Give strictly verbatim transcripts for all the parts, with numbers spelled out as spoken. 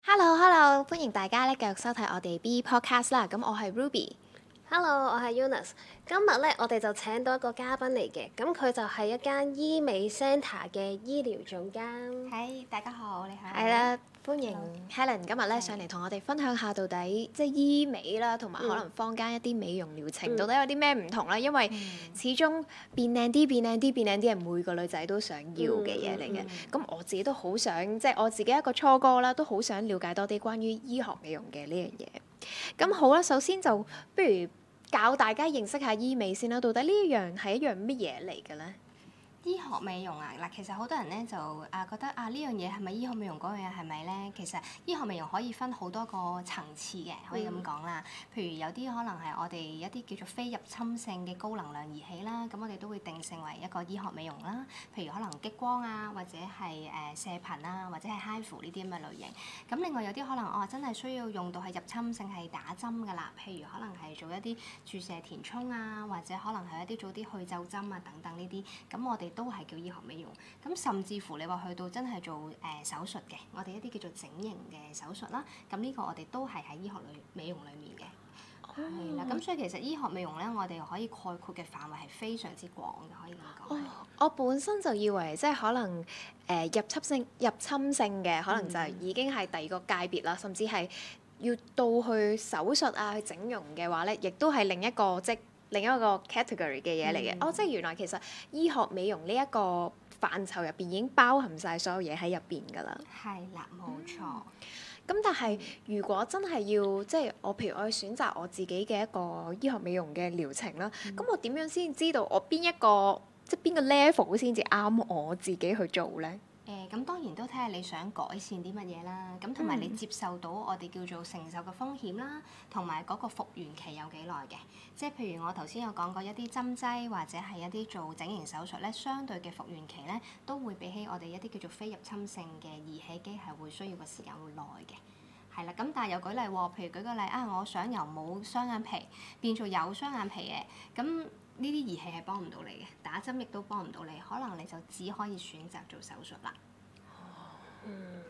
Hello，Hello，歡迎大家咧繼續收睇我哋 B Podcast 啦。咁我係 Ruby。 Hello，我係 Eunice。今日咧，我哋就請到一個嘉賓嚟嘅，咁佢就係一間醫美 centre 嘅醫療總監。 係，大家好，你好。 係啦，歡迎 Hello. Helen 今日咧上嚟同我哋分享下到底即係醫美啦，同埋可能坊間一啲美容療程、 嗯、 到底有啲咩唔同啦。因為始終變靚啲、變靚啲、變靚啲係每個女仔都想要嘅嘢嚟嘅。咁、嗯嗯、我自己都好想，即係我自己一個初哥啦，都好想了解多啲關於醫學美容嘅呢樣嘢。咁好啦，首先就不如教大家認識下醫美先啦。到底呢一樣係一樣乜嘢嚟嘅咧？ 醫學美容啊，嗱，其實好多人咧就啊覺得啊呢樣嘢係咪醫學美容，嗰樣嘢係咪咧？其實醫學美容可以分好多個層次嘅，可以咁講啦。譬如有啲可能係我哋一啲叫做非入侵性嘅高能量儀器啦，咁我哋都會定性為一個醫學美容啦。譬如可能激光啊，或者係誒、呃、射頻啊，或者係 H I F U 呢啲咁嘅類型。咁另外有啲可能我、哦、真係需要用到係入侵性係打針㗎啦，譬如可能係做一啲注射填充啊，或者可能係一啲做啲去皺針啊等等呢啲，咁我哋都係叫醫學美容。咁甚至乎你話去到真係做誒、呃、手術嘅，我哋一啲叫做整形嘅手術啦，咁呢個我哋都係喺醫學裏美容裡面嘅，係啦、哦。咁所以其實醫學美容咧，我哋可以概括嘅範圍係非常之廣嘅，可以咁講。 哦，我本身就以為即係可能誒、呃、入侵性入侵性嘅，可能就已經係第二個界別啦，嗯、甚至係要到去手術啊、去整容嘅話咧，亦都係另一個即另一個 category 嘅嘢嚟嘅。嗯、哦，即係原來其實醫學美容呢一個範疇入邊已經包含晒所有嘢喺入邊㗎啦。 係啦，冇錯。 咁、嗯、但係如果真係要即係我譬如我去選擇我自己嘅一個醫學美容嘅療程啦，咁、嗯、我點樣先知道我邊一個即係邊個 level 先至啱我自己去做咧？ 誒咁、呃、當然都睇下你想改善啲乜嘢啦，咁同埋你接受到我哋叫做承受嘅風險啦，同埋嗰個復原期有幾耐嘅。即係譬如我頭先有講過一啲針劑或者係一啲做整形手術咧，相對嘅復原期咧都會比起我哋一啲叫做非入侵性嘅儀器機係會需要個時間會耐嘅。係啦，咁但係又舉例喎，譬如舉個例啊，我想由冇雙眼皮變做有雙眼皮嘅，咁呢啲儀器係幫唔到你嘅，打針亦都幫唔到你，可能你就只可以選擇做手術啦。 嗯，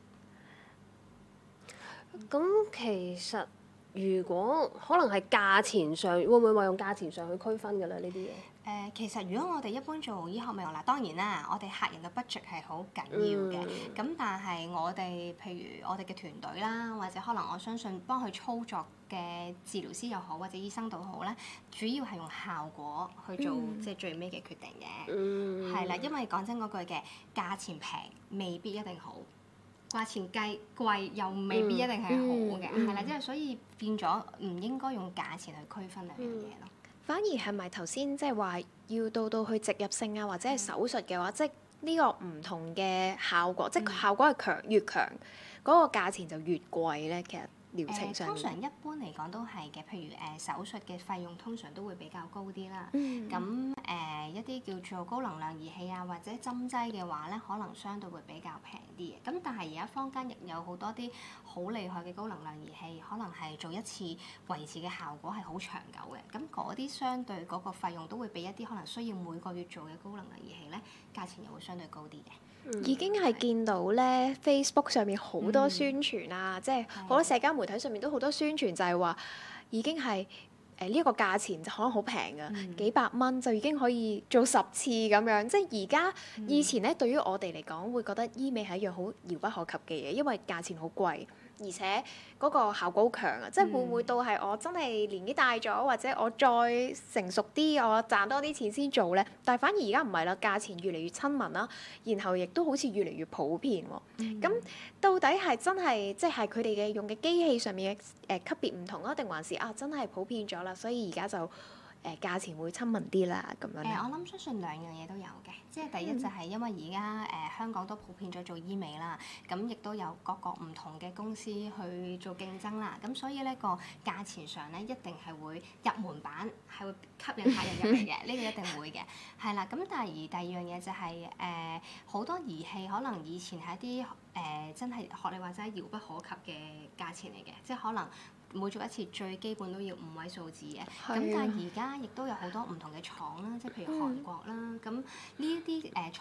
係。 咁其實如果可能係價錢上，會唔會話用價錢上去區分㗎咧？呢啲嘢？ 誒、呃，其實如果我哋一般做醫學美容啦，當然啦，我哋客人嘅 budget 係好緊要嘅。咁、嗯、但係我哋譬如我哋嘅團隊啦，或者可能我相信幫佢操作嘅治療師又好，或者醫生都好咧，主要係用效果去做、嗯、即係最尾嘅決定嘅。係啦、嗯，因為講真嗰句嘅價錢平未必一定好，價錢計貴又未必一定係好嘅。係啦、嗯，即係、嗯、所以變咗唔應該用價錢去區分兩樣嘢咯。 反而係咪頭先即係話要到到去植入性啊，或者係手術嘅話，嗯、即係呢個唔同嘅效果，嗯、即係效果係強越強，嗰、嗰個價錢就越貴咧。其實療程上、呃、 通常一般嚟講都係嘅，譬如誒、呃、手術嘅費用通常都會比較高啲啦。咁誒、嗯呃、一啲叫做高能量儀器啊，或者針劑嘅話咧，可能相對會比較平啲嘅。咁但係而家坊間亦有好多啲好厲害嘅高能量儀器，可能係做一次維持嘅效果係好長久嘅。咁嗰啲相對嗰個費用都會比一啲可能需要每個月做嘅高能量儀器咧，價錢又會相對高啲嘅。 嗯、已經係見到咧 Facebook 上面好多宣傳啊，嗯、即係好多社交媒體上面都好多宣傳，就係話已經係誒呢一個價錢就可能好平㗎，嗯、幾百蚊就已經可以做十次咁樣。即係而家以前咧，對於我哋嚟講會覺得醫美係一樣好遙不可及嘅嘢，因為價錢好貴。而且嗰個效果好強啊！即係會唔會到係我真係年紀大咗，或者我再成熟啲，我賺多啲錢先做咧？但係反而而家唔係啦，價錢越嚟越親民啦，然後亦都好似越嚟越普遍喎。咁、嗯、到底係真係即係佢哋嘅用嘅機器上面嘅誒、呃、級別唔同啊，定還是啊真係普遍咗啦？所以而家就。誒、呃、價錢會親民啲啦，咁樣。誒、 呃，我諗相信兩樣嘢都有嘅，即係第一就係因為而家誒香港都普遍咗做醫美啦，咁亦都有各個唔同嘅公司去做競爭啦，咁所以呢個價錢上咧一定係會入門版，係會吸引客人入嚟嘅，呢個一定會嘅，係啦。咁但係而第二樣嘢就係誒好多儀器可能以前係一啲誒、呃、真係學你話齋遙不可及嘅價錢嚟嘅，即係可能。每做一次最基本都要五位數字嘅，咁、啊、但係而家亦都有好多唔同嘅廠啦，即係譬如韓國啦，咁呢一啲誒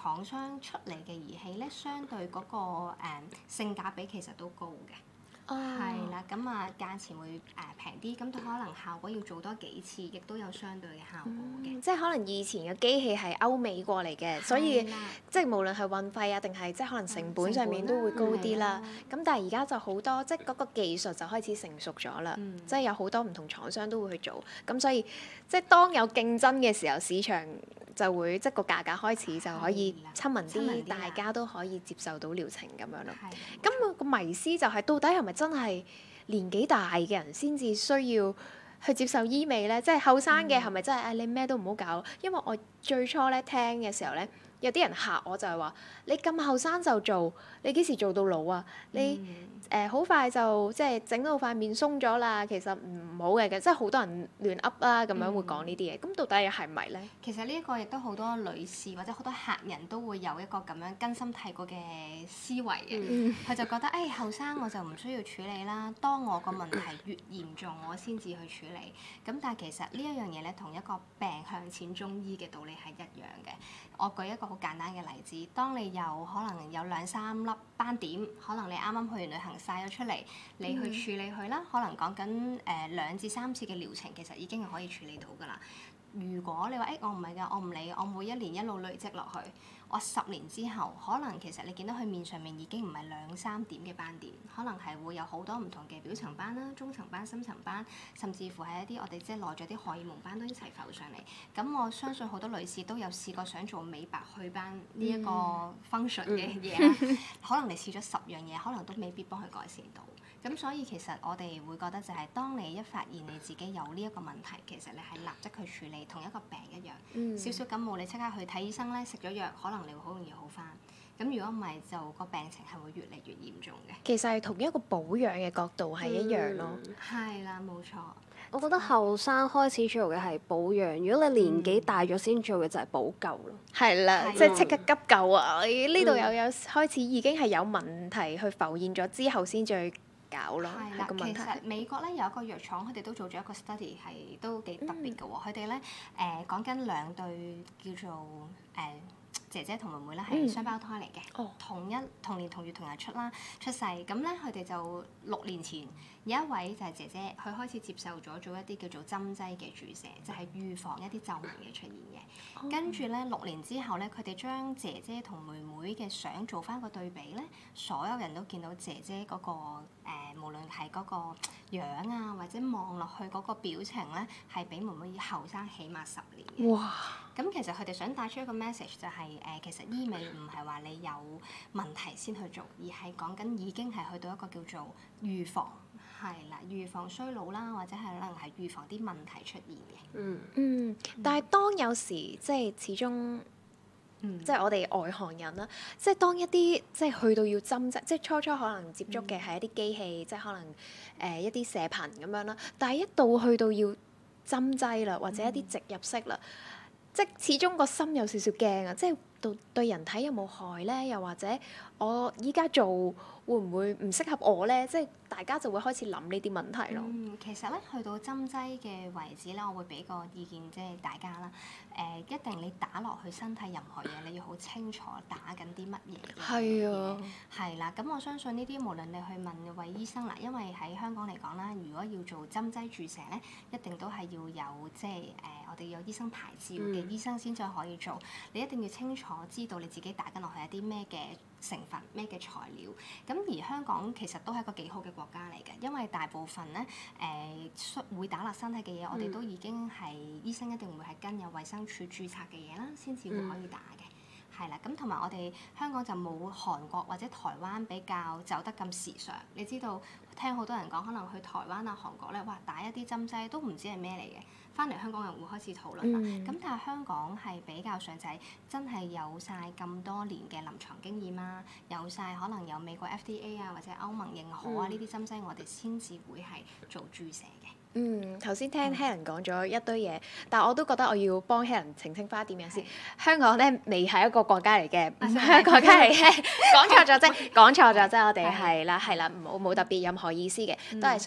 廠商出嚟嘅儀器咧，相對嗰、個誒、嗯、性價比其實都高嘅。係啦，咁啊價錢會誒平啲，咁、呃、可能效果要做多幾次，亦都有相對嘅效果嘅、 嗯。即係可能以前嘅機器係歐美過嚟嘅，所以即係無論係運費啊，定係即係可能成本上面都會高啲啦。咁、嗯、但係而家就好多，即係嗰個技術就開始成熟咗啦。嗯、即係有好多唔同廠商都會去做，咁所以即係當有競爭嘅時候，市場就會即係個價格開始就可以親民啲，大家都可以接受到療程咁樣咯。咁個迷思就係、是、到底係咪真係年紀大嘅人先至需要去接受醫美咧？即係後生嘅係咪真係誒、哎、你咩都唔好搞？因為我最初咧聽嘅時候咧，有啲人嚇我就係話：你咁後生就做，你幾時做到老啊？你誒好、呃、快就即係整到塊面鬆咗啦，其實唔好嘅，即係好多人亂噏啦，咁樣會講呢啲嘢。咁、嗯、到底係咪咧？ 其實呢一個亦都好多女士或者好多客人都會有一個咁樣根深蒂固嘅思維嘅，佢、嗯、就覺得誒後生我就唔需要處理啦，當我個問題越嚴重，我先至去處理。咁但係其實呢一樣嘢咧，同一個病向淺中醫嘅道理係一樣嘅。我舉一個好簡單嘅例子，當你有可能有兩三粒斑點，可能你啱啱去完旅行曬咗出嚟，你去處理佢啦，嗯、可能講緊誒兩至三次嘅療程，其實已經係可以處理到㗎啦。如果你話誒、欸、我唔係㗎，我唔理，我每一年一路累積落去，我十年之後，可能其實你見到佢面上面已經唔係兩三點嘅斑點，可能係會有好多唔同嘅表層斑啦、中層斑、深層斑，甚至乎係一啲我哋即係內在啲荷爾蒙斑都一齊浮上嚟。咁我相信好多女士都有試過想做美白祛斑呢一個 function 嘅嘢啦，嗯、可能你試咗十樣嘢，可能都未必幫佢改善到。咁所以其實我哋會覺得就係當你一發現你自己有呢一個問題，其實你係立即去處理，同一個病一樣，嗯、少少感冒你即刻去睇醫生咧，食咗藥可能你會好容易好返。咁如果唔係就個病情係會越嚟越嚴重嘅。 其實係同一個保養嘅角度係一樣咯。 係啦、嗯，冇錯。 我覺得後生開始做嘅係保養，如果你年紀大咗先做嘅就係補救咯。 係啦，即係即刻急救啊！呢度又有開始已經係有問題去浮現咗之後先至去搞咯，係個問題。 其實美國咧有一個藥廠，佢哋都做咗一個 study 係都幾特別嘅喎。佢哋咧誒講緊兩對叫做誒、呃、姐姐同妹妹咧係雙胞胎嚟嘅，嗯、同一同年同月同日出啦出世。咁咧佢哋就六年前有一位就係姐姐，佢開始接受咗做一啲叫做針劑嘅注射，就係、是、預防一啲皺紋嘅出現嘅。哦、跟住咧六年之後咧，佢哋將姐姐同妹妹嘅相做翻個對比咧，所有人都見到姐姐嗰、那個誒、呃，無論係嗰個樣啊，或者望落去嗰個表情咧，係比妹妹後生起碼十年嘅。哇！咁其實佢哋想帶出一個 message 就係、是、誒、呃，其實醫美唔係話你有問題先去做，而係講緊已經係去到一個叫做預防。係啦，預防衰老啦，或者係可能係預防啲問題出現嘅。嗯嗯，但係當有時即係始終，嗯、即係我哋外行人啦，即係當一啲即係去到要針劑，即係初初可能接觸嘅係一啲機器，嗯、即係可能誒、呃、一啲射頻咁樣啦。但係一到去到要針劑啦，或者一啲植入式啦，嗯、即係始終個心有少少驚啊！即係對對人體有冇害咧？又或者我依家做會唔會唔適合我咧？即係大家就會開始諗呢啲問題咯。 嗯，其實咧去到針劑嘅位置咧，我會俾個意見即係大家啦。誒、呃，一定你打落去身體任何嘢，你要好清楚打緊啲乜嘢嘅。係啊。係啦，咁我相信呢啲無論你去問位醫生啦，因為喺香港嚟講啦，如果要做針劑注射咧，一定都係要有即係誒、呃，我哋有醫生牌照嘅醫生先至可以做。嗯、你一定要清楚知道你自己打緊落去係啲咩嘅成分咩嘅材料，咁而香港其實都係一個幾好嘅國家嚟嘅，因為大部分咧誒會打落身體嘅嘢，嗯、我哋都已經係醫生一定會係跟有衛生署註冊嘅嘢啦，先至會可以打嘅，係啦、嗯。咁同埋我哋香港就冇韓國或者台灣比較走得咁時尚。你知道聽好多人講，可能去台灣啊、韓國咧，哇打一啲針劑都唔知係咩嚟嘅。翻嚟香港人會開始討論啦，咁、嗯、但係香港係比較上就係真係有晒咁多年嘅臨床經驗啊，有晒可能有美國 F D A 啊或者歐盟認可啊呢啲針劑，我哋先至會係做注射嘅。嗯， 頭先聽 Helen 講咗一堆嘢，但係我都覺得我要幫 Helen 澄清翻一點嘢先。香港咧未係一個國家嚟嘅，唔係一個國家嚟嘅，講錯咗啫，講錯咗啫，我哋係啦係啦，冇冇特別任何意思嘅，都係想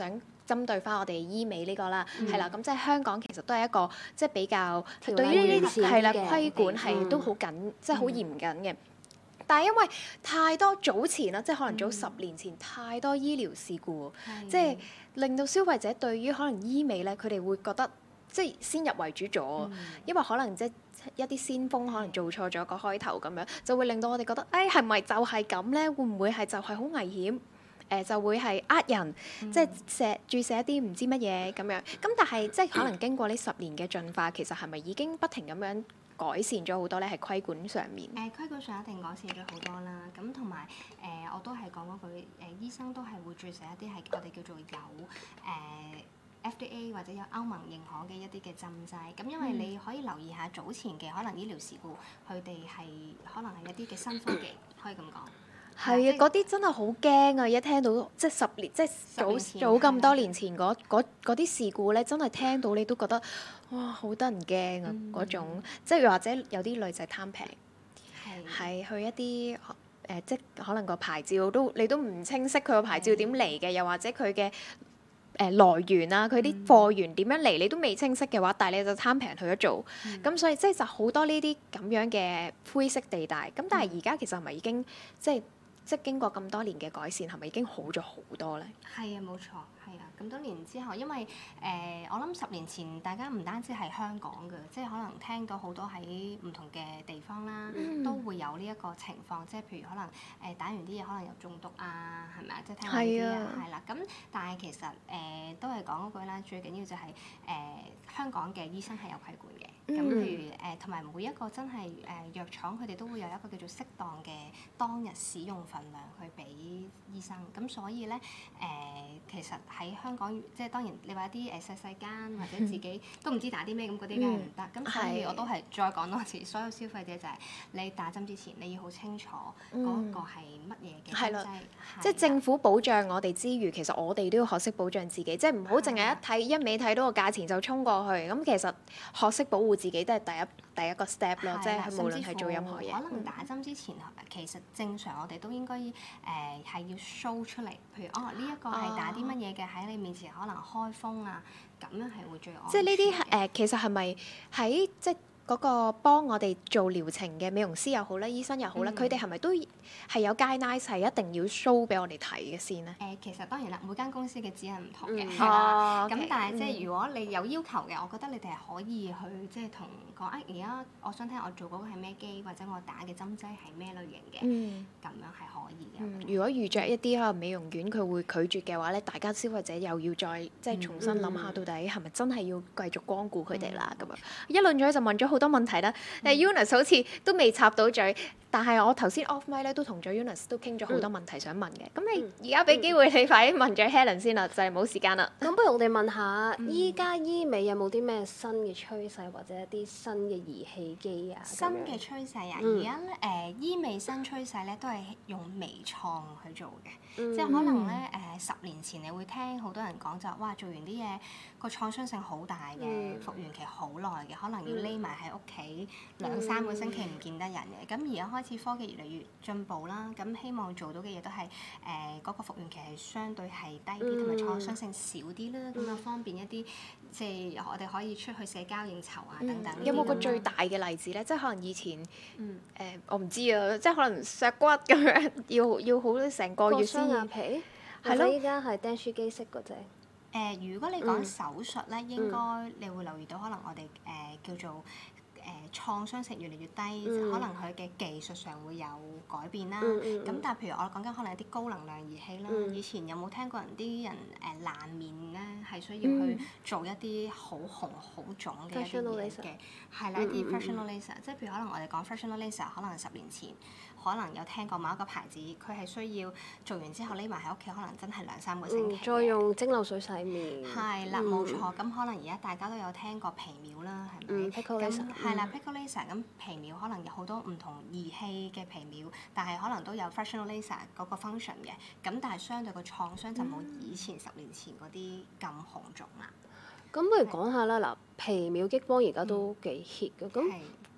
針對翻我哋醫美呢個啦， 嗯係啦、咁即係香港其實都係一個即係比較條例對於呢完善啲係啦嘅規管係嗯都好緊，即係好嚴謹嘅。但係因為太多早前啦，即係可能早十年前、太多醫療事故， 係即係令到消費者對於可能醫美咧，佢哋會覺得即係先入為主咗， 嗯因為可能即係一啲先鋒可能做錯咗個開頭咁樣，就會令到我哋覺得，誒係咪就係咁咧？會唔會係就係好危險？誒、呃、就會係呃人， 嗯即係射注射一啲唔知乜嘢咁樣。咁但係即係可能經過呢十年嘅進化，其實係咪已經不停咁樣改善咗好多咧？係規管上面。 誒、規管上一定改善咗好多啦，咁同埋誒我都係講嗰句誒、呃，醫生都係會注射一啲係我哋叫做有誒、呃 F D A 或者有歐盟認可嘅一啲嘅針劑，咁因為你可以留意下早前嘅可能醫療事故，佢哋係可能係一啲嘅新科技，可以咁講。 係啊，嗰啲真係好驚啊！一聽到即係十年，即係早年前早咁係啦多年前嗰嗰嗰啲事故咧，真係聽到你都覺得哇，好得人驚啊！ 嗯嗰種即係又或者有啲女仔貪平， 係係去一啲誒、呃，即係可能個牌照都你都唔清晰佢個牌照點嚟嘅，又或者佢嘅誒來源啊，佢啲貨源點樣嚟，你都未清晰嘅話，但係你就貪平去咗做，咁、 嗯所以即係就好多呢啲咁樣嘅灰色地帶。咁但係而家其實係咪已經即係即係經過咁多年嘅改善，係咪已經好咗好多咧？ 係啊，冇錯，係啊。咁多年之後，因為誒、呃，我諗十年前大家唔單止係香港嘅，即係可能聽到好多喺唔同嘅地方啦， 嗯都會有呢一個情況，即係譬如可能誒、呃、打完啲嘢可能有中毒啊，係咪啊？即係聽過呢啲啊，係啦。咁但係其實誒、呃、都係講嗰句啦，最緊要就係、是、誒、呃、香港嘅醫生係有規管嘅。咁、 嗯譬如誒，同、呃、埋每一個真係誒、呃、藥廠，佢哋都會有一個叫做適當嘅當日使用份量去俾醫生。咁所以咧誒、呃，其實喺香港，即係當然你話一啲誒細細間或者自己都唔知打啲咩，咁嗰啲梗係唔得。咁、所以係我都係再講多次，所有消費者就係你打針之前，你要好清楚嗰個係乜嘢嘅係啦針劑。 即係政府保障我哋之餘，其實我哋都要學識保障自己，即係唔好淨係一睇一味睇到個價錢就衝過去。咁其實學識保護自己都係第一第一個 step 咯，即係啦係無論係做任何嘢。 可能打針之前，其實正常我哋都應該誒係要 show 出嚟，譬如哦呢一個係打啲乜嘢嘅喺你面前可能開封啊，咁樣係會最安即係呢啲全嘅誒，其實係咪喺即係嗰個幫我哋做療程嘅美容師又好啦，醫生又好啦， 嗯佢哋係咪都係有 guideline 係一定要 show 俾我哋睇嘅先咧？ 誒、其實當然啦，每間公司嘅指引唔同嘅， 嗯係啦。 哦咁、 ，OK， 但係即係嗯如果你有要求嘅，我覺得你哋係可以去即係同講啊，而家我想聽我做嗰個係咩機，或者我打嘅針劑係咩類型嘅，咁、 嗯樣係可以嘅。 嗯，如果遇着一啲可能美容院佢會拒絕嘅話咧，大家消費者又要再即係重新諗下，到底係咪真係要繼續光顧佢哋啦？咁樣一輪咗就問咗好多問題啦。但係 Eunice 好似都未插到嘴，但係我頭先 off mic 咧都同咗 Eunice 都傾咗好多問題想問嘅。咁你而家俾機會你快啲問咗 Helen 先啦，就係冇時間啦。 咁不如我哋問下，依家醫美有冇啲咩新嘅趨勢或者一啲新嘅儀器機啊？ 新咁樣嘅趨勢啊， 嗯而家咧誒醫美新趨勢咧都係用微創去做嘅， 嗯即係可能咧誒、呃十年前你會聽好多人講就話哇做完啲嘢個創傷性好大嘅， 嗯復原期好耐嘅，可能要匿埋喺屋企兩三個星期唔見得人嘅。咁而家開始科技越嚟越進步啦，咁希望做到嘅嘢都係誒嗰個復原期係相對係低啲，同埋、 嗯創傷性少啲啦，咁啊方便一啲即係我哋可以出去社交應酬啊等等呢啲咁啦。 有冇個最大嘅例子咧？即係可能以前誒、 嗯呃我唔知啊，即係可能削骨咁樣，要要好成個割月先雙眼要。 皮， 係咯或者依家係釘書機式嗰隻。 誒、如果你講嗯手術咧，應該你會留意到，可能我哋誒、呃叫做誒、創傷性越嚟越低， 嗯可能佢嘅技術上會有改變啦。 嗯嗯咁、但係譬如我講緊可能一啲高能量儀器啦， 嗯以前有冇聽過人啲人誒、爛面咧係需要嗯去做一啲好紅好腫嘅一啲 Fractional 嘢 laser 嘅，係啦，一啲嗯嗯嗯 fractional laser，即係譬如可能我哋講 fractional laser，可能十年前可能有聽過某一個牌子，佢係需要做完之後匿埋喺屋企，可能真係兩三個星嗯， 期嘅。 再用蒸餾水洗面。 係啦， 嗯冇錯。咁可能而家大家都有聽過皮秒啦，係咪？ 嗯，pico 咁 laser， 係啦嗯 ，pico laser 咁皮秒可能有好多唔同儀器嘅皮秒，但係可能都有 fractional laser 嗰個 function 嘅。咁但係相對個創傷就冇以前十年前嗰啲咁紅腫啦。 咁不如講下啦，嗱，皮秒激光而家都幾 hit 嘅，咁係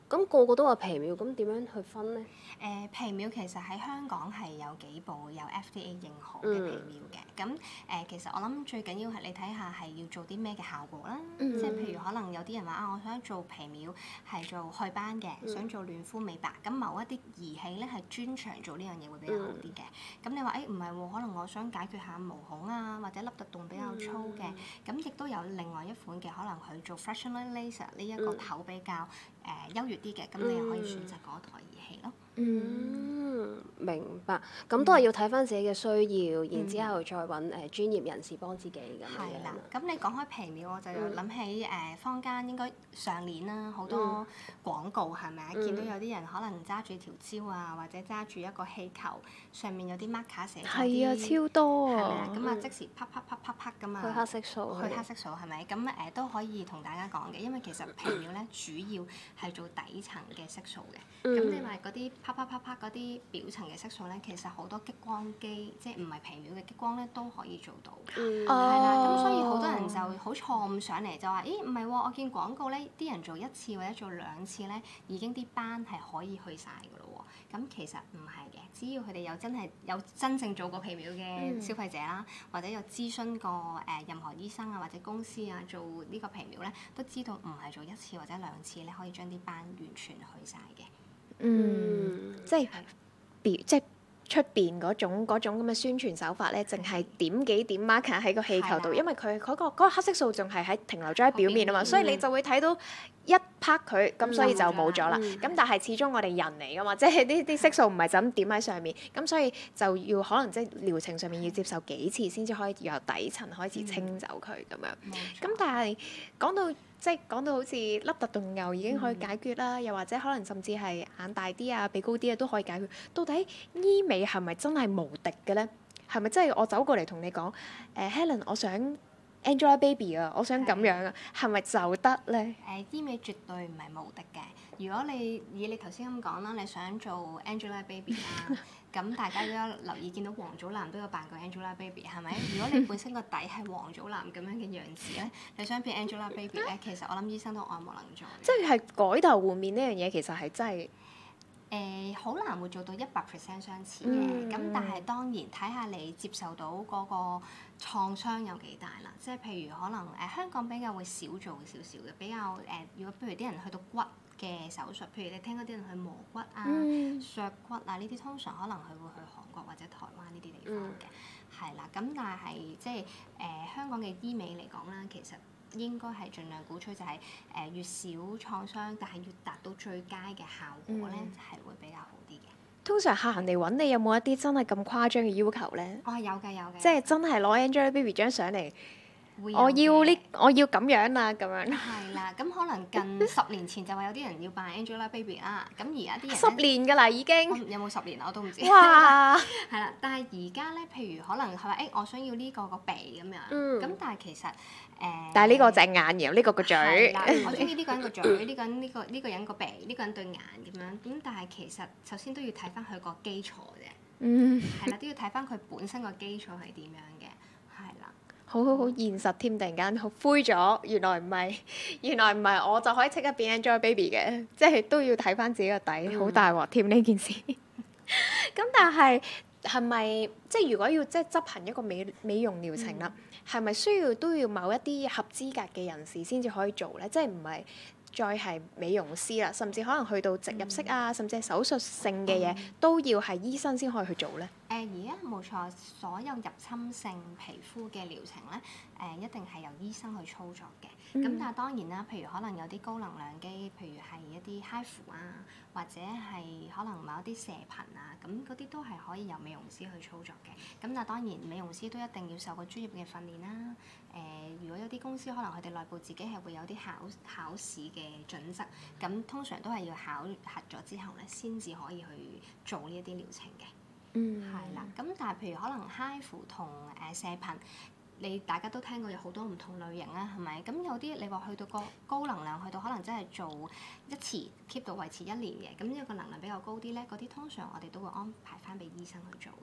咁個個都話皮秒，咁點樣去分咧？ 誒、呃、皮秒其實喺香港係有幾部有 F D A 認可嘅皮秒嘅，咁誒、呃、其實我諗最緊要係你睇下係要做啲咩嘅效果啦， 嗯、 即係譬如可能有啲人話啊，我想做皮秒係做祛斑嘅，嗯、想做嫩膚美白，咁某一啲儀器咧係專長做呢樣嘢會比較好啲嘅。咁、嗯、你話誒唔係喎，可能我想解決下毛孔啊或者凹凸洞比較粗嘅，咁亦都有另外一款嘅，可能佢做 fractional laser 呢一個頭比較誒、呃、優越啲嘅，咁你又可以選擇嗰台儀器咯。 嗯，明白。咁都係要睇翻自己嘅需要，嗯、然之後再揾誒專業人士幫自己咁樣。係啦。 咁你講開皮秒，我就諗起誒、呃、坊間應該上年啦，好多廣告係咪啊？見到有啲人可能揸住條蕉啊，或者揸住一個氣球，上面有啲 marker 寫咗啲。 係啊，超多啊！ 係咪啊？咁啊，即時啪啪啪啪啪咁啊。 去黑色素。 去黑色素係咪？咁誒、呃、都可以同大家講嘅，因為其實皮秒咧主要係做底層嘅色素嘅。咁、嗯、你話嗰啲啪啪啪啪嗰啲表層嘅色素咧，其實好多激光機，即係唔係皮秒嘅激光咧，都可以做到。 嗯。 係啦，咁所以好多人就好錯誤上嚟就話：咦，唔係喎，我見廣告咧，啲人做一次或者做兩次咧，已經啲斑係可以去晒㗎咯喎。咁其實唔係嘅，只要佢哋有真係有真正做過皮秒嘅消費者啦，嗯、或者有諮詢過誒、呃、任何醫生啊或者公司啊做呢個皮秒咧，都知道唔係做一次或者兩次咧，可以將啲斑完全去晒嘅。 嗯，即係別即係出邊嗰種嗰種咁嘅宣傳手法咧，淨係點幾點 marker 喺個氣球度，因為佢嗰個嗰個黑色素仲係喺停留咗喺表面啊嘛，所以你就會睇到一拍佢，咁所以就冇咗啦。咁但係始終我哋人嚟噶嘛，即係呢啲色素唔係就咁點喺上面，咁所以就要可能即係療程上面要接受幾次先至可以由底層開始清走佢咁樣。咁但係講到即係講到好似凹凸洞牛已經可以解決啦，嗯、又或者可能甚至係眼大啲啊、鼻高啲啊都可以解決。到底醫美係咪真係無敵嘅咧？係咪真係我走過嚟同你講，誒、呃、Helen，我想 Angelababy 啊，我想咁樣啊，係咪就得咧？誒、 呃，醫美絕對唔係無敵嘅。如果你以你頭先咁講啦，你想做 Angelababy 啦。咁大家都有留意見到王祖藍都有扮過 Angelababy 係咪？如果你本身個底係王祖藍咁樣嘅樣子咧，你想變 Angelababy 咧，其實我諗醫生都愛莫能助。 即係改頭換面呢樣嘢，其實係真係誒好難會做到一百 percent 相似嘅。咁、嗯、但係當然睇下你接受到嗰個創傷有幾大啦。即係譬如可能誒、呃、香港比較會少做少少嘅，比較誒、呃、如果譬如啲人去到骨嘅手術，譬如你聽嗰啲人去磨骨啊、嗯、削骨啊呢啲，通常可能佢會去韓國或者台灣呢啲地方嘅，係啦、嗯。咁但係即係誒、呃、香港嘅醫美嚟講啦，其實應該係盡量鼓吹就係、是、誒、呃、越少創傷，但係越達到最佳嘅效果咧，係、嗯、會比較好啲嘅。 通常客人嚟揾你有冇一啲真係咁誇張嘅要求咧？ 我係、哦、有嘅有嘅， 即係真係攞 Angelababy 張相嚟。我要呢，我要咁樣啦，咁樣。 係啦，咁可能近十年前就話有啲人要扮 Angelababy 啦，咁而家啲人十年㗎啦已經。 有冇十年我都唔知。 哇！ 係啦，但係而家咧，譬如可能佢話誒，我想要呢個個鼻咁樣，咁、嗯、但係其實誒。呃、 但係呢個隻眼，然後呢個個嘴。 係啦，我中意呢個人個嘴，呢個人呢個呢個人個鼻，呢個人對眼咁樣。咁但係其實首先都要睇翻佢個基礎啫。嗯。係啦，都要睇翻佢本身個基礎係點樣嘅，係啦。 好好好現實添，突然間好灰咗。原來唔係，原來唔係，我就可以即刻變 Angelababy 嘅，即係都要睇翻自己個底，好大鑊添呢件事。咁但係係咪即係如果要即係執行一個美美容療程啦，係咪、嗯、需要都要某一啲合資格嘅人士先至可以做咧？即係唔係再係美容師啦，甚至可能去到植入式啊，嗯、甚至係手術性嘅嘢、嗯、都要係醫生先可以去做咧？ 誒而家冇錯，所有入侵性皮膚嘅療程咧，誒、呃、一定係由醫生去操作嘅。咁、嗯、但係當然啦，譬如可能有啲高能量機，譬如係一啲 H I F U 啊，或者係可能某一啲射頻啊，咁嗰啲都係可以由美容師去操作嘅。咁但係當然美容師都一定要受過專業嘅訓練啦。誒、呃，如果有啲公司可能佢哋內部自己係會有啲考考試嘅準則，咁通常都係要考核咗之後咧，先至可以去做呢一啲療程嘅。嗯，係啦，咁但係譬如可能 H I F U 同誒射頻，你大家都聽過有好多唔同類型啦，係咪？咁有啲你話去到個高能量，去到可能真係做一次 keep 到維持一年嘅，咁呢個能量比較高啲咧，嗰啲通常我哋都會安排翻俾醫生去做嘅。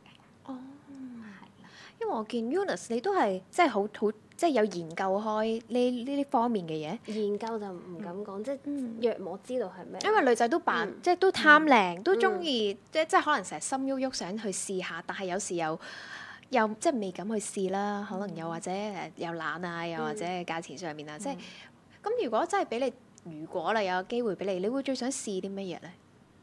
哦， 係啦， 因為我見 Eunice 你都係即係好好即係有研究開呢呢啲方面嘅嘢。 研究就唔敢講，即係嗯約莫知道係咩。 因為女仔都扮、 嗯即係都貪靚，都中意即即係可能成日心喐喐想去試下，但係有時又又即係未敢去試啦。可能又或者誒又懶啊，又或者價錢上面啊，即係咁。如果真係俾你，如果啦有個機會俾你，你會最想試啲乜嘢咧？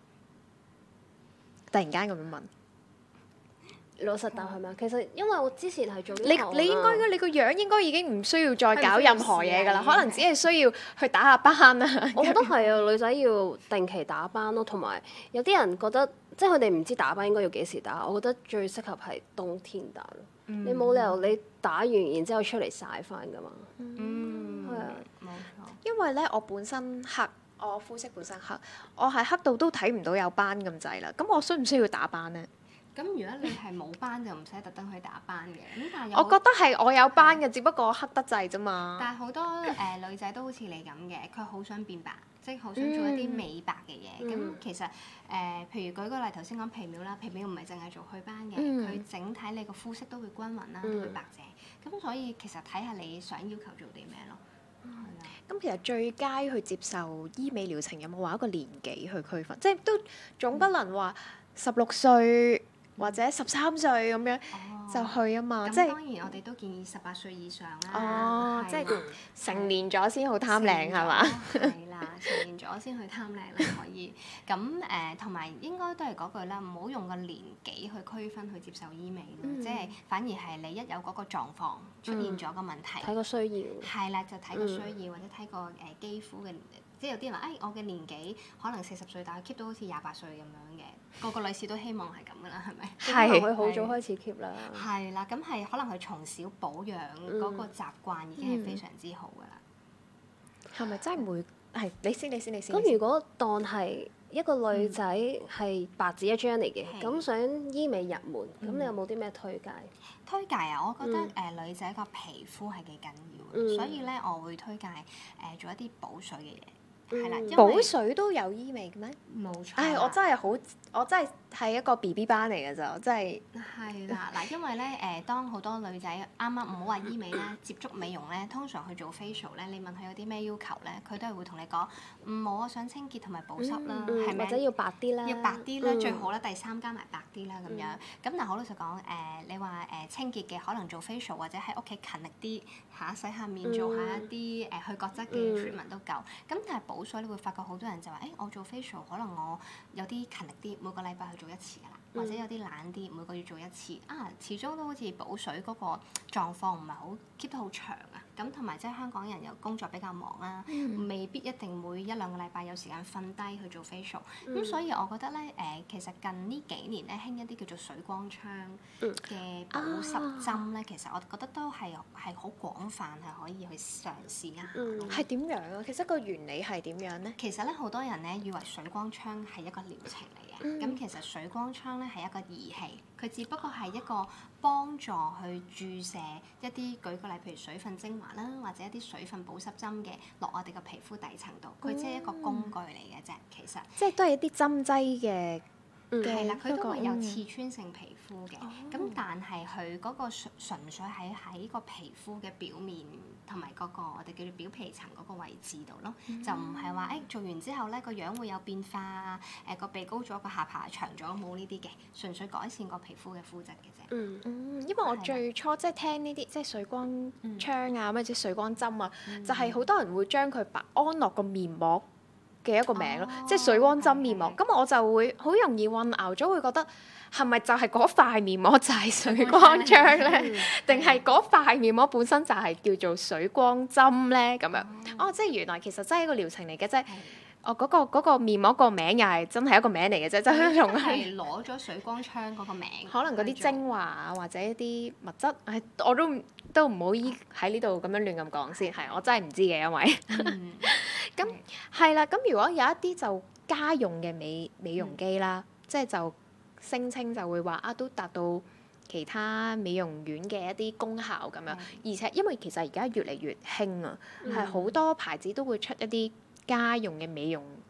突然間咁樣問。 老實答係咪啊？其實因為我之前係做呢你行你應該啊你個樣應該已經唔需要再搞任何嘢㗎啦， 係唔需要試啊可能只係需要去打下班啊。 我覺得係啊，女仔要定期打班咯，同埋有啲人覺得即係佢哋唔知打班應該要幾時打，我覺得最適合係冬天打咯。 嗯你冇理由你打完然之後出嚟曬翻㗎嘛。 嗯， 係啊冇錯。 因為咧，我本身黑，我膚色本身黑，我係黑到都睇唔到有斑咁滯啦。咁我需唔需要打斑咧？ 咁如果你係冇班就唔使特登去打班嘅，咁但係有我覺得係我有斑嘅，只不過我黑得滯啫嘛。 但係好多誒、呃、女仔都好似你咁嘅，佢好想變白，即係好想做一啲美白嘅嘢。咁、 嗯其實誒、呃，譬如舉個例，頭先講皮秒啦，皮秒唔係淨係做祛斑嘅，佢、 嗯整體你個膚色都會均勻啦， 嗯都會白淨。咁所以其實睇下你想要求做啲咩咯。係啊、 咁其實最佳去接受醫美療程有冇話一個年紀去區分？即係都總不能話十六歲或者十三歲咁樣哦就去啊嘛。 咁即係當然我哋都建議十八歲以上啦。 哦，即係係成年咗先好貪靚係嘛？ 係啦，成年咗先去貪靚啦，可以。咁誒，同埋應該都係嗰句啦，唔好用個年紀去區分去接受醫美咯， 嗯即係反而係你一有嗰個狀況出現咗個問題， 睇個需要。 係啦，就睇個需要或者睇個誒肌膚嘅，即係有啲人話誒，我嘅年紀可能四十歲，但係 keep 到好似廿八歲咁樣嘅，個個女士都希望係咁噶啦，係咪？ 係佢好早開始 keep 啦。 係啦，咁係可能佢從小保養嗰個習慣已經係非常之好噶啦。 係咪真係每係你先？你先？你先？ 咁如果當係一個女仔係白紙一張嚟嘅， 係咁想醫美入門，咁你有冇啲咩推介？ 推介啊，我覺得誒、 嗯呃、女仔個皮膚係幾緊要嘅， 嗯所以咧我會推介誒、呃、做一啲補水嘅嘢，係啦、 嗯因為補水都有醫美嘅咩？ 冇錯啦。 唉，我真係好，我真係係一個 B B 班嚟嘅咋，我真係係啦，嗱，因為咧誒、呃，當好多女仔啱啱唔好話醫美啦，接觸美容咧，通常去做 facial 咧，你問佢有啲咩要求咧，佢都係會同你講，唔冇啊，想清潔同埋保濕啦， 嗯係咪、 或者要白啲啦， 要白啲啦， 嗯最好啦，第三加埋白啲啦咁樣。咁但係好老實講，誒、你話誒、清潔嘅可能做 facial 或者喺屋企勤力啲嚇洗下面，做下一啲誒、去角質嘅嗯 treatment 都夠。咁但係補水你會發覺好多人就話，誒、我做 facial 可能我有啲勤力啲，每個禮拜去做一次㗎啦，或者有啲懶啲，每個月做一次。啊，始終都好似補水嗰個狀況唔係好 keep 得好長啊。咁同埋即係香港人又工作比較忙啦，未必一定每一兩個禮拜有時間瞓低去做 facial。咁、 嗯所以我覺得咧，誒、其實近呢幾年咧興一啲叫做水光槍嘅保濕針咧，其實我覺得都係係好廣泛，係可以去嘗試一下咯。 嗯係點樣啊？其實個原理係點樣咧？ 其實咧，好多人咧以為水光槍係一個療程嚟嘅，咁、 嗯其實水光槍咧係一個儀器，佢只不過係一個幫助去注射一啲，舉個例，譬如水分精華啦，或者一啲水分保濕針嘅落我哋個皮膚底層度，佢只係一個工具嚟嘅啫，其實。 即係都係一啲針劑嘅嗯嘅係啦，佢嗰個都會有嗯刺穿性皮膚嘅，咁、但係佢嗰個純純粹喺喺個皮膚嘅表面同埋嗰個我哋叫做表皮層嗰個位置度咯，就唔係話誒做完之後咧個樣會有變化啊，誒、個鼻高咗，個下巴長咗，冇呢啲嘅，純粹改善個皮膚嘅膚質嘅啫。 嗯嗯，因為我係啦最初即係聽呢啲即係水光嗯槍啊，或者水光針啊，就係好多人會將佢擺安落個面膜嘅一個名咯， 哦即係水光針面膜。 係咁我就會好容易混淆咗，會覺得係咪就係嗰塊面膜就係水光槍咧？定係嗰塊面膜本身就係叫做水光針咧？咁樣哦，即係原來其實真係一個療程嚟嘅啫。哦，嗰、個嗰個面膜個名又係真係一個名嚟嘅啫，真係同係係攞咗水光槍嗰個名， 可能嗰啲去做精華啊，或者一啲物質，唉，我都唔都唔好依喺呢度咁樣亂咁講先，係我真係唔知嘅，因為嗯咁係啦。咁如果有一啲就家用嘅美美容機啦，即係就聲稱就會話啊，都達到其他美容院嘅一啲功效咁樣，而且因為其實而家越嚟越興啊，係好、多牌子都會出一啲家用嘅美容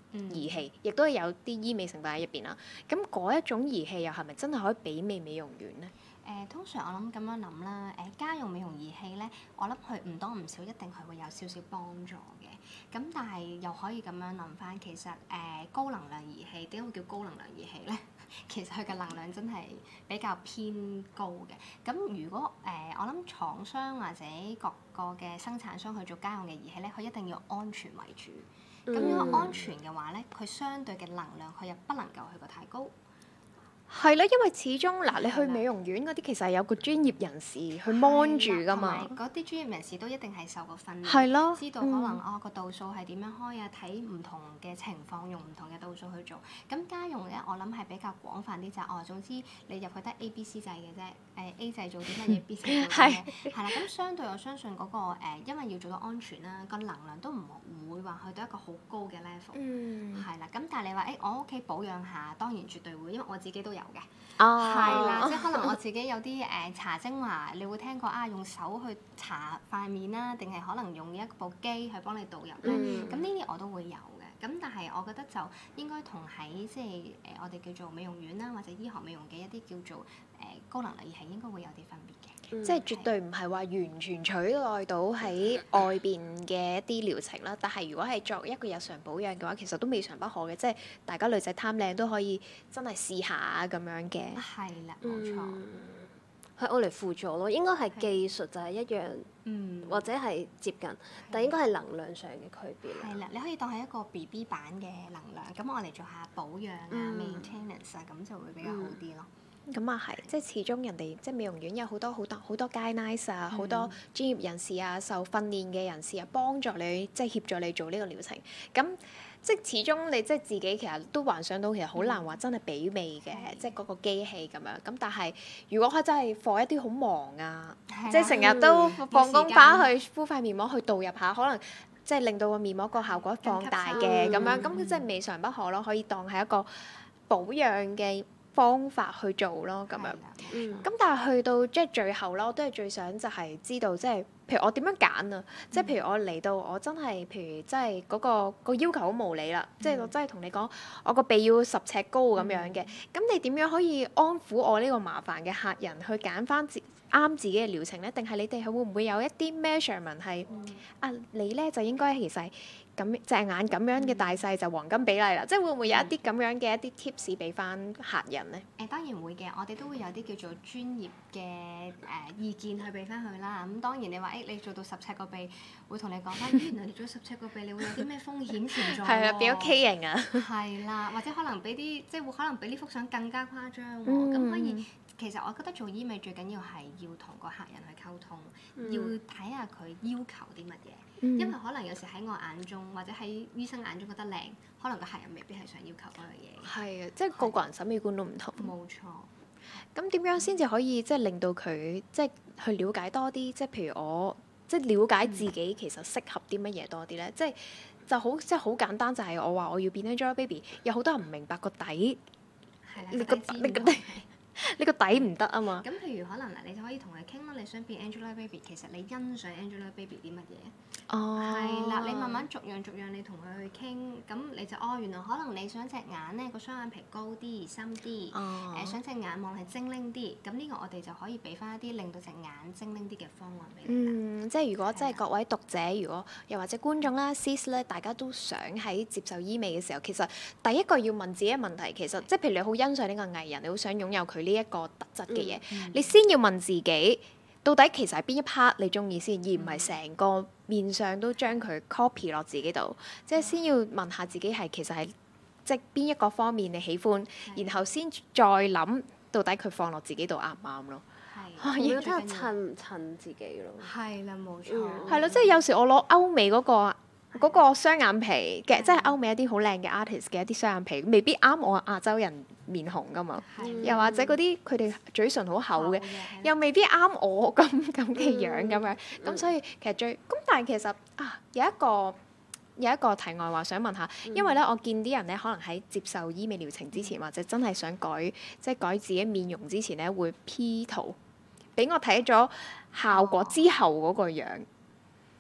儀器，亦都有啲醫美成分喺入邊啦。咁嗰一種儀器又係咪真係可以媲美美容院咧？ 誒、呃、通常我諗咁樣諗啦，誒、呃、家用美容儀器咧，我諗佢唔多唔少一定係會有少少幫助嘅。咁但係又可以咁樣諗翻，其實誒、呃、高能量儀器點解會叫高能量儀器咧？其實佢嘅能量真係比較偏高嘅。咁如果誒、呃、我諗廠商或者各個嘅生產商去做家用嘅儀器咧，佢一定要安全為主。咁、嗯、如果安全嘅話咧，佢相對嘅能量佢又不能夠去過太高。 係啦，因為始終嗱，你去美容院嗰啲其實係有個專業人士去 mon 住噶嘛。 嗰啲專業人士都一定係受過訓練， 係咯， 知道可能哦個度數係點樣開啊，睇唔同嘅情況用唔同嘅度數去做。咁家用咧，我諗係比較廣泛啲就係哦，總之你入去得 A、B、C 掣嘅啫。誒 A 掣做啲乜嘢，B 掣做啲乜嘢，係啦。咁相對我相信嗰、嗰個、呃、因為要做到安全啦，個能量都唔唔會話去到一個好高嘅 level。嗯。係啦，咁但係你話誒、欸，我屋企保養下，當然絕對會，因為我自己都有嘅。哦。係啦，即係可能我自己有啲誒、呃、搽精華，你會聽過啊，用手去搽塊面啦，定係可能用一部機去幫你導入咧。咁呢啲我都會有嘅。咁但係我覺得就應該同喺即係誒、呃、我哋叫做美容院啦，或者醫學美容嘅一啲叫做誒、呃、高能量儀器應該會有啲分別嘅。嗯、 即係絕對唔係話完全取代到喺外邊嘅一啲療程啦。但係如果係作一個日常保養嘅話，其實都未嘗不可嘅。即係大家女仔貪靚都可以真係試下咁樣嘅。 係啦，冇錯。 係我嚟輔助咯，應該係技術就係一樣，嗯、或者係接近，但係應該係能量上嘅區別。 係啦，你可以當係一個 B B 版嘅能量，咁我嚟做下保養啊、嗯、maintenance 啊，咁就會比較好啲咯。 咁啊係，即係始終人哋即係美容院有好多好多好多 guidelines 啊，好、嗯、多專業人士啊、受訓練嘅人士啊，幫助你即係協助你做呢個療程。咁即係始終你即係自己其實都幻想到，其實好難話真係媲美嘅，嗯、即係嗰個機器咁樣。咁但係如果佢真係放一啲好忙啊，嗯、即係成日都放工翻去敷塊面膜去導入下，可能即係令到個面膜個效果放大嘅咁樣，咁即係未嘗不可咯，可以當係一個保養嘅方法去做咯，咁樣。嗯。咁但係去到即係最後啦，我都係最想就係知道，即係譬如我點樣揀啊？嗯、即係譬如我嚟到，我真係譬如即係嗰個個要求好無理啦，嗯、即係我真係同你講，我個鼻要十尺高咁樣嘅。咁、嗯、你點樣可以安撫我呢個麻煩嘅客人去揀翻自啱自己嘅療程咧？定係你哋係會唔會有一啲 measurement 係、嗯、啊？你咧就應該其實咁隻眼咁樣嘅大細就黃金比例啦，嗯、即係會唔會有一啲咁樣嘅一啲 tips 俾翻客人咧？ 誒當然會嘅，我哋都會有啲叫做專業嘅誒、呃、意見去俾翻佢啦。咁、嗯、當然你話誒、欸、你做到十尺個鼻，會同你講翻，原來你做十尺個鼻，你會有啲咩風險存在喎？ 係啊，變咗 K 型啊！ 係啦，或者可能俾啲即係會可能比呢幅相更加誇張喎。咁、嗯、可以，其實我覺得做醫美最緊要係要同個客人去溝通，嗯、要睇下佢要求啲乜嘢。因為可能有時喺我眼中，或者喺醫生眼中覺得靚，可能個客人未必係想要求嗰樣嘢。 係啊，即係個個人審美觀都唔同。 冇錯。 咁點樣先至可以即係令到佢即係去了解多啲？即係譬如我即係了解自己其實適合啲乜嘢多啲咧？嗯、即係就好即係好簡單，就係我話我要變 Angelababy，有好多人唔明白個底。係啦。你個你個底。呢個底唔得啊嘛！ 咁譬如可能嗱，你就可以同佢傾咯。你想變 Angelababy，其實你欣賞 Angelababy 啲乜嘢？哦，係啦，你慢慢逐樣逐樣你同佢去傾，咁你就哦，原來可能你想隻眼咧個雙眼皮高啲、深啲，誒、哦呃、想隻眼望係精靈啲，咁呢個我哋就可以俾翻一啲令到隻眼精靈啲嘅方案俾你。 嗯，即係如果即係各位讀者，如果又或者觀眾啦、sis 咧，大家都想喺接受醫美嘅時候，其實第一個要問自己嘅問題，其實即係譬如你好欣賞呢個藝人，你好想擁有佢呢一個特質嘅嘢，嗯嗯、你先要問自己，到底其實係邊一 part 你中意先，而唔係成個面上都將佢 copy 落自己度，即係先要問下自己係其實係即係邊一個方面你喜歡，然後先再諗到底佢放落自己度啱唔啱咯。 係，要睇下襯唔襯自己咯。 係啦，冇錯。 係咯，即係有時我攞歐美嗰個嗰個雙眼皮嘅，即係歐美一啲好靚嘅 artist 嘅一啲雙眼皮，未必啱我亞洲人面紅噶嘛。又或者嗰啲佢哋嘴唇好厚嘅，又未必啱我咁咁嘅樣咁樣。咁所以其實最咁，但係其實啊有一個有一個題外話想問下，因為咧我見啲人咧可能喺接受醫美療程之前，或者真係想改即係改自己面容之前咧，會 P 圖俾我睇咗效果之後嗰個樣。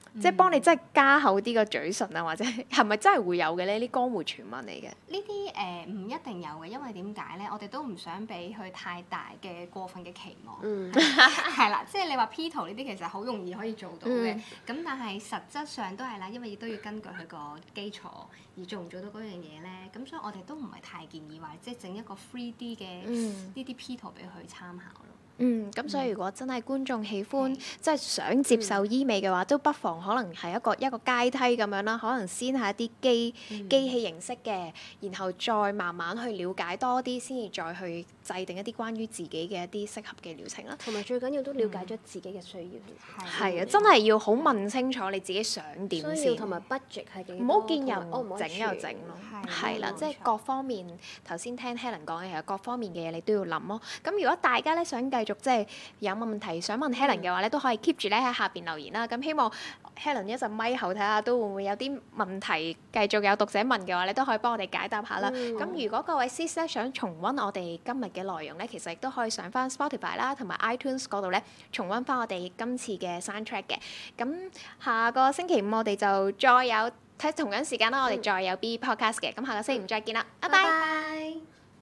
即係幫你真係加厚啲個嘴唇啊，或者係咪真係會有嘅咧？啲江湖傳聞嚟嘅。 呢啲誒唔一定有嘅，因為點解咧？我哋都唔想俾佢太大嘅過分嘅期望。 嗯， 係啦，即係你話 P 圖呢啲其實好容易可以做到嘅，咁、 嗯、 但係實質上都係啦，因為亦都要根據佢個基礎而做唔做到嗰樣嘢咧，咁所以我哋都唔係太建議話即係整一個 three D 嘅呢啲 P 圖俾佢參考咯。 嗯，咁所以如果真係觀眾喜歡，即係、嗯、想接受醫美嘅話，都不妨可能係一個一個階梯咁樣啦。可能先係一啲機、嗯、機器形式嘅，然後再慢慢去了解多啲，先至再去制定一啲關於自己嘅一啲適合嘅療程啦。 同埋最緊要都了解咗自己嘅需要。 係啊，真係要好問清楚你自己想點先。 需要同埋 budget 係幾多？ 唔好見人整又整咯。係啦，即係各方面頭先聽 Helen 講嘅，其實各方面嘅嘢你都要諗咯。咁如果大家咧想繼續即係有問題想問 Helen 嘅話咧，都可以 keep 住咧喺下邊留言啦。咁希望 Helen 一陣咪後睇下都會唔會有啲問題繼續有讀者問嘅話，你都可以幫我哋解答下啦。咁、嗯、如果各位 Sis 咧想重溫我哋今日嘅內容咧，其實亦都可以上翻 Spotify 啦，同埋 iTunes 嗰度咧重溫翻我哋今次嘅 soundtrack 嘅。咁下個星期五我哋就再有睇同樣時間啦，我哋再有 B Podcast 嘅。咁下個星期五再見啦，拜拜。